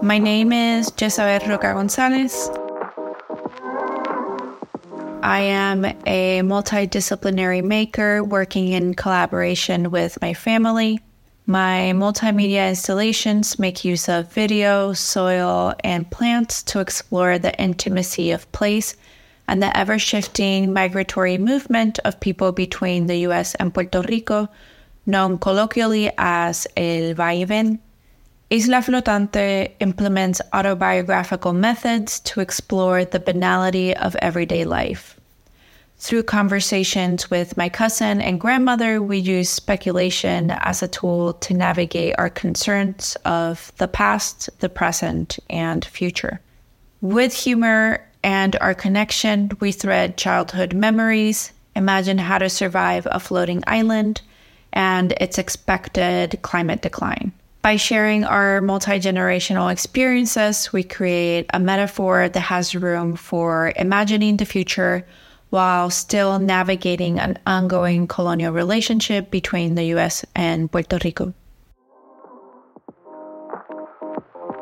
My name is Jezabel Roca Gonzalez. I am a multidisciplinary maker working in collaboration with my family. My multimedia installations make use of video, soil, and plants to explore the intimacy of place and the ever-shifting migratory movement of people between the U.S. and Puerto Rico, known colloquially as el vaivén. Isla Flotante implements autobiographical methods to explore the banality of everyday life. Through conversations with my cousin and grandmother, we use speculation as a tool to navigate our concerns of the past, the present, and future. With humor and our connection, we thread childhood memories, imagine how to survive a floating island, and its expected climate decline. By sharing our multi-generational experiences, we create a metaphor that has room for imagining the future while still navigating an ongoing colonial relationship between the U.S. and Puerto Rico.